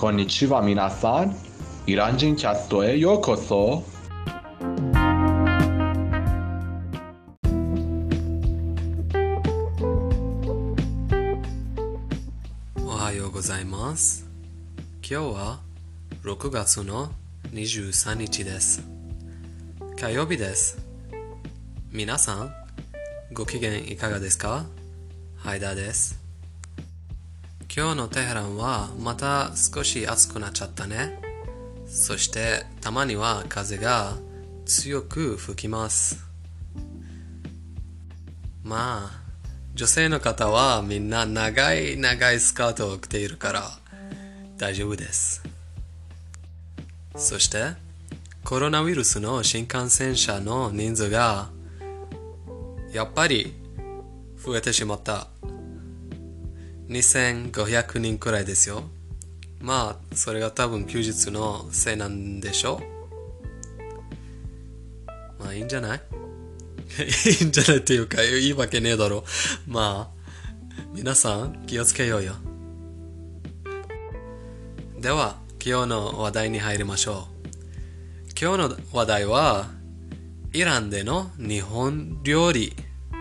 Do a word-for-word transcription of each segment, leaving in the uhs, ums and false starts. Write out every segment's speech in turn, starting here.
こんにちは皆さん。イラン人キャストへようこそ。 おはようございます。今日はろくがつのにじゅうさんにちです。火曜日です。皆さん、ご機嫌いかがですか？ハイダーです。今日のテヘランはまた少し暑くなっちゃったね。そしてたまには風が強く吹きます。まあ、女性の方はみんな長い長いスカートを着ているから大丈夫です。そしてコロナウイルスの新感染者の人数がやっぱり増えてしまった。にせんごひゃくにんくらいですよ。まあそれが多分休日のせいなんでしょう。まあいいんじゃないいいんじゃないっていうかいいわけねえだろ。まあ皆さん気をつけようよ。では今日の話題に入りましょう。今日の話題はイランでの日本料理。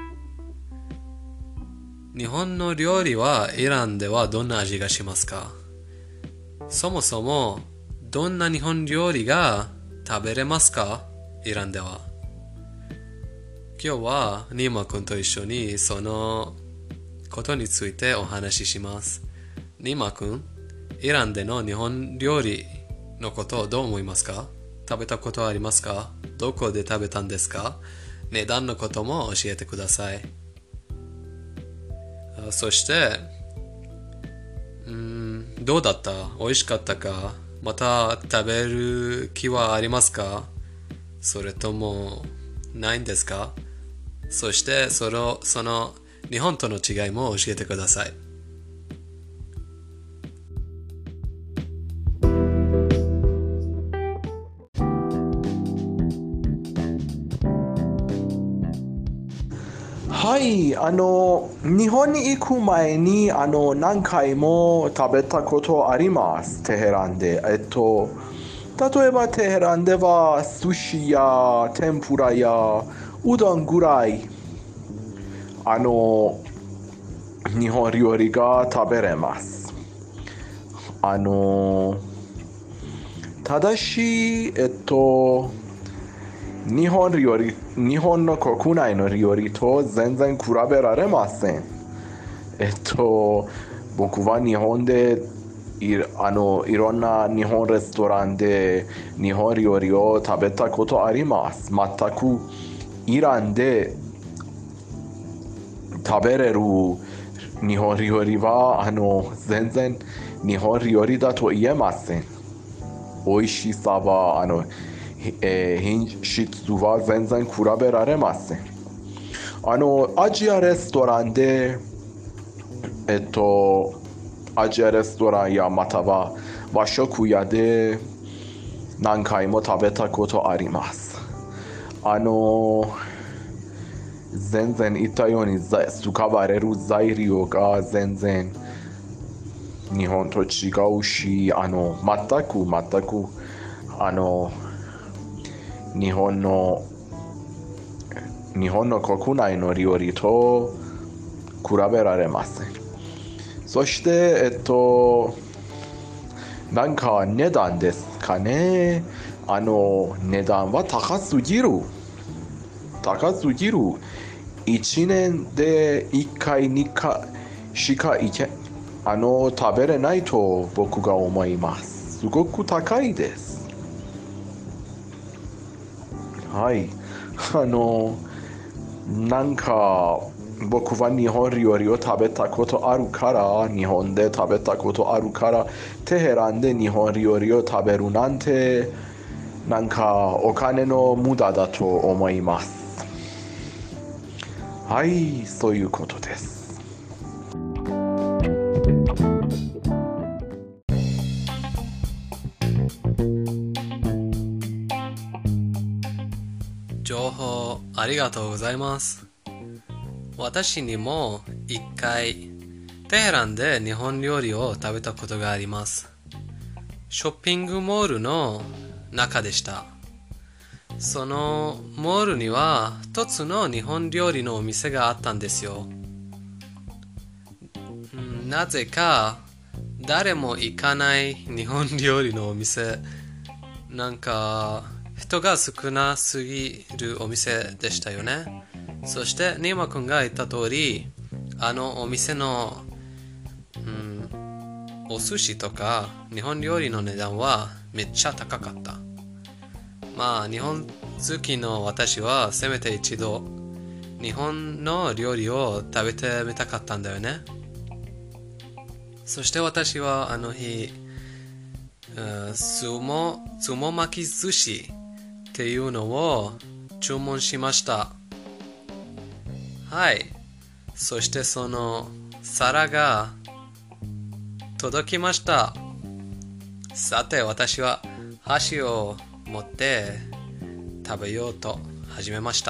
日本の料理はイランではどんな味がしますか？そもそもどんな日本料理が食べれますか？イランでは。今日はニーマ君と一緒にそのことについてお話しします。ニーマ君、イランでの日本料理のことをどう思いますか？食べたことはありますか？どこで食べたんですか？値段のことも教えてください。そして、うーん、どうだった？美味しかったか？また食べる気はありますか？それともないんですか？そしてその、その日本との違いも教えてください。 はい、あの日本に行く前にあの何回も食べたことあります。テヘランで。えっと例えばテヘランでは寿司や天ぷらやうどんぐらいあの日本料理が食べれます。あのただしえっと日本料理日本の国内の料理と全然比べられません。えっと僕は日本でいあのいろんな日本レストランで日本料理を食べたことあります。全くイランで食べれる日本料理はあの全然日本料理だと言えません。美味しさはあのえー、品質は全然比べられません。あのアジアレストランでえっとアジアレストランやまたは和食屋で何回も食べたことあります。あの全然言ったように使われる材料が全然日本と違うし、あの全く全くあの日本の日本の国内の料理と比べられません。そしてえっとなんか値段ですかね。あの値段は高すぎる高すぎる。いちねんでいっかいにかいしかいけあの食べれないと僕が思います。すごく高いです。はい、あのなんか僕は日本料理を食べたことあるから日本で食べたことあるからテヘランで日本料理を食べるなんてなんかお金の無駄だと思います。はい、そういうことです。 情報ありがとうございます。私にも一回テヘランで日本料理を食べたことがあります。 ショッピングモールの中でした。そのモールには一つの日本料理のお店があったんですよ。なぜか誰も行かない日本料理のお店、なんか人が少なすぎるお店でしたよね。そしてニーマ君が言った通り、あのお店の、うん、お寿司とか日本料理の値段はめっちゃ高かった。まあ日本好きの私はせめて一度日本の料理を食べてみたかったんだよね。そして私はあの日、スモ、スモ巻き寿司っていうのを注文しました。はい。そしてその皿が届きました。さて私は箸を持って食べようと始めました。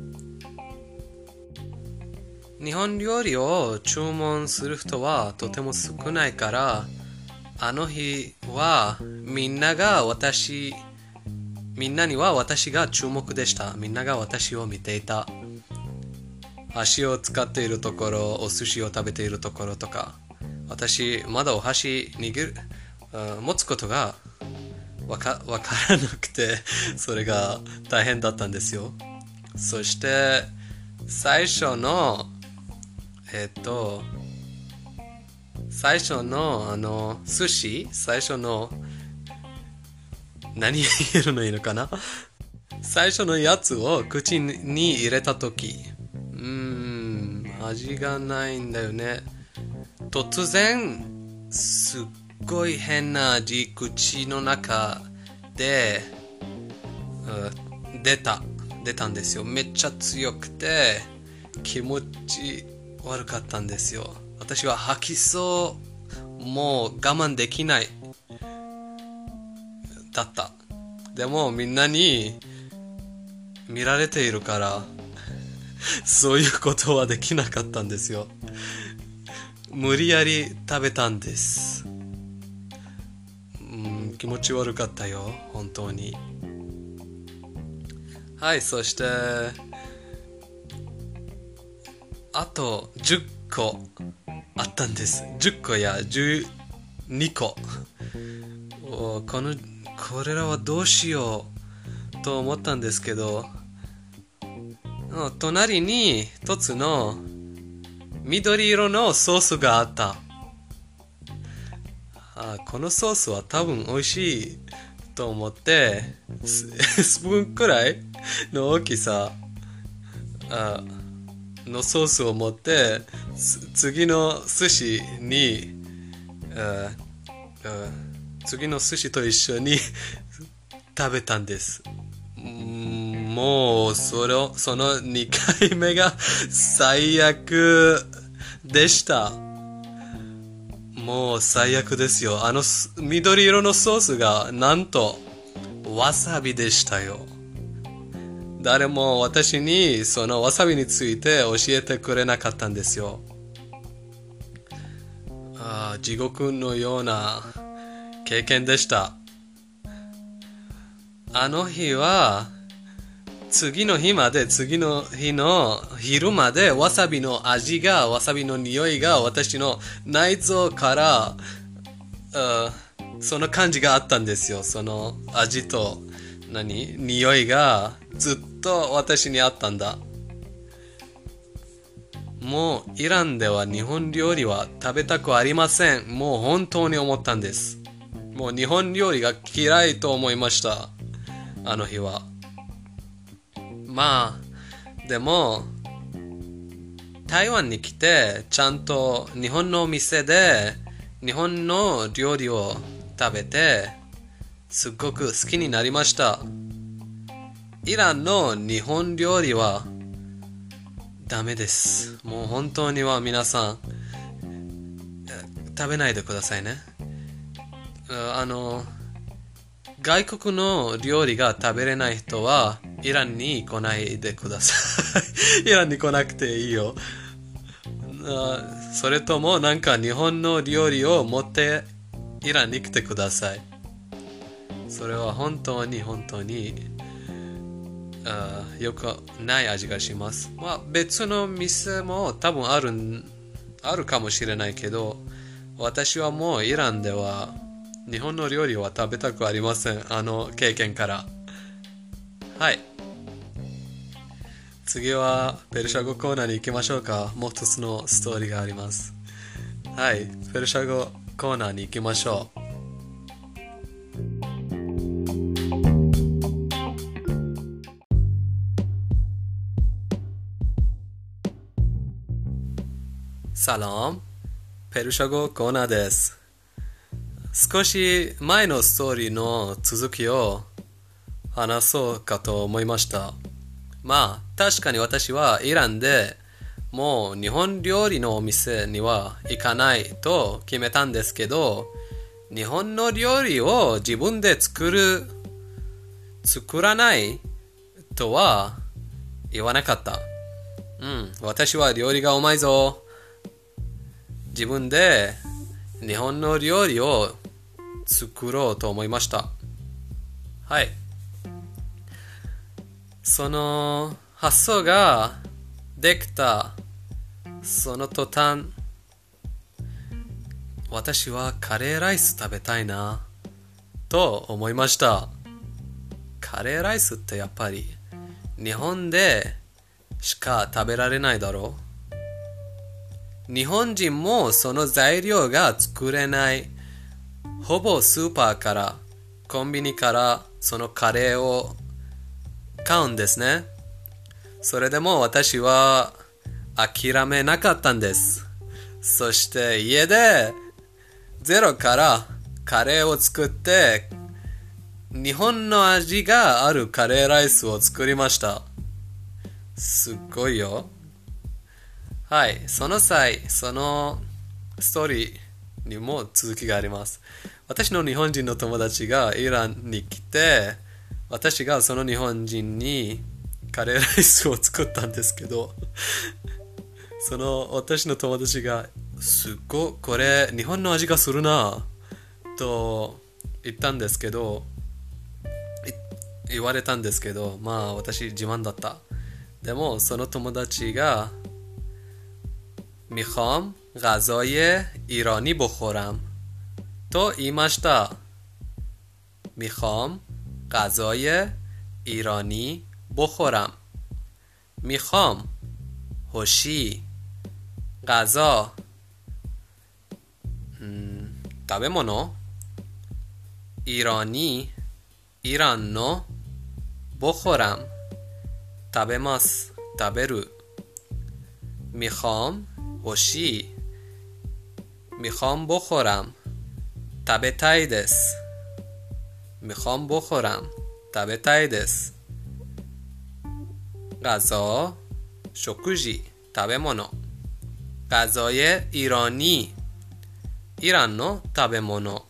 日本料理を注文する人はとても少ないから、あの日はみんなが私みんなには私が注目でした。みんなが私を見ていた。箸を使っているところ、お寿司を食べているところとか、私まだお箸握る、持つことがわか、わからなくて、それが大変だったんですよ。そして最初のえっと最初のあの寿司、最初の何言えるのいいのかな最初のやつを口に入れたとき、うーん、味がないんだよね。突然すっごい変な味、口の中で、うん、出た出たんですよ。めっちゃ強くて気持ち悪かったんですよ。私は吐きそう、もう我慢できないだった。でもみんなに見られているからそういうことはできなかったんですよ。無理やり食べたんです。うん、気持ち悪かったよ、本当に。はい、そしてあとじゅっこあったんです。じゅっこやじゅうにこ。おこのこれらはどうしようと思ったんですけど、隣に一つの緑色のソースがあった。あ、このソースは多分美味しいと思ってス, スプーンくらいの大きさあのソースを持って次の寿司にああ次の寿司と一緒に食べたんです。もうそれそのにかいめが最悪でした。もう最悪ですよ。あの緑色のソースがなんとわさびでしたよ。誰も私にそのわさびについて教えてくれなかったんですよ。ああ、地獄のような経験でした。あの日は次の日まで次の日の昼までわさびの味がわさびの匂いが私の内臓からその感じがあったんですよ。その味と何匂いがずっと私にあったんだ。もうイランでは日本料理は食べたくありません。もう本当に思ったんです。もう日本料理が嫌いと思いました。あの日は。まあでも台湾に来てちゃんと日本のお店で日本の料理を食べてすっごく好きになりました。イランの日本料理はダメです。もう本当には皆さん食べないでくださいね。あの外国の料理が食べれない人はイランに来ないでください。イランに来なくていいよ。それともなんか日本の料理を持ってイランに来てください。 それは本当に本当にあよくない味がします。まあ別の店も多分あるあるかもしれないけど、私はもうイランでは日本の料理は食べたくありません。あの経験から。はい。次はペルシャ語コーナーに行きましょうか。もう一つのストーリーがあります。はい。ペルシャ語コーナーに行きましょう。サラム、ペルシャ語コーナーです。少し前のストーリーの続きを話そうかと思いました。まあ、確かに私はイランでもう日本料理のお店には行かないと決めたんですけど、日本の料理を自分で作る、作らないとは言わなかった。うん、私は料理がうまいぞ。自分で日本の料理を作ろうと思いました。はい。その発想ができたその途端、私はカレーライス食べたいなと思いました。カレーライスってやっぱり日本でしか食べられないだろう。日本人もその材料が作れない。ほぼスーパーからコンビニからそのカレーを買うんですね。それでも私は諦めなかったんです。そして家でゼロからカレーを作って日本の味があるカレーライスを作りました。すっごいよ。はい、その際、そのストーリーにも続きがあります。私の日本人の友達がイランに来て、私がその日本人にカレーライスを作ったんですけど、その私の友達がすっごいこれ日本の味がするなと言ったんですけど、言われたんですけど、まあ私自慢だった。でもその友達がمیخوام غذای ایرانی بخورم تو言いました。میخوام غذای ایرانی بخورم. میخوام هوشی غذا 食べ物 ایرانی ایرانの بخورم 食べます食べる میخوام هوشی میخوام بخورم 食べたいです میخوام بخورم 食べたいです غذا 食事食べ物 غذای ایرانی ایرانの食べ物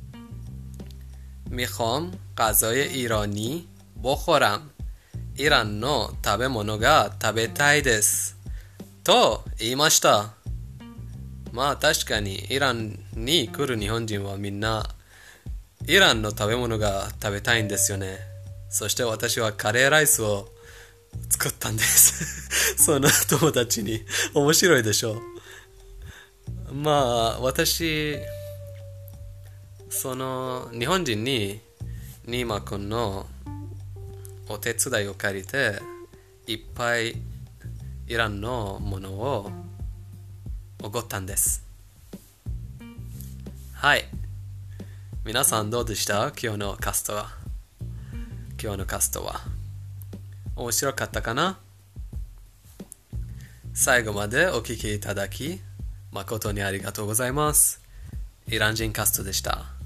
میخوام غذای ایرانی بخورم ایرانの食べ物が食べたいですと言いました。まあ確かにイランに来る日本人はみんなイランの食べ物が食べたいんですよね。そして私はカレーライスを作ったんですその友達に。面白いでしょう。まあ私その日本人にニーマくんのお手伝いを借りていっぱいイランのものをおごったんです。はい。皆さんどうでした？今日のカストは。今日のカストは。面白かったかな？最後までお聞きいただき、誠にありがとうございます。イラン人カストでした。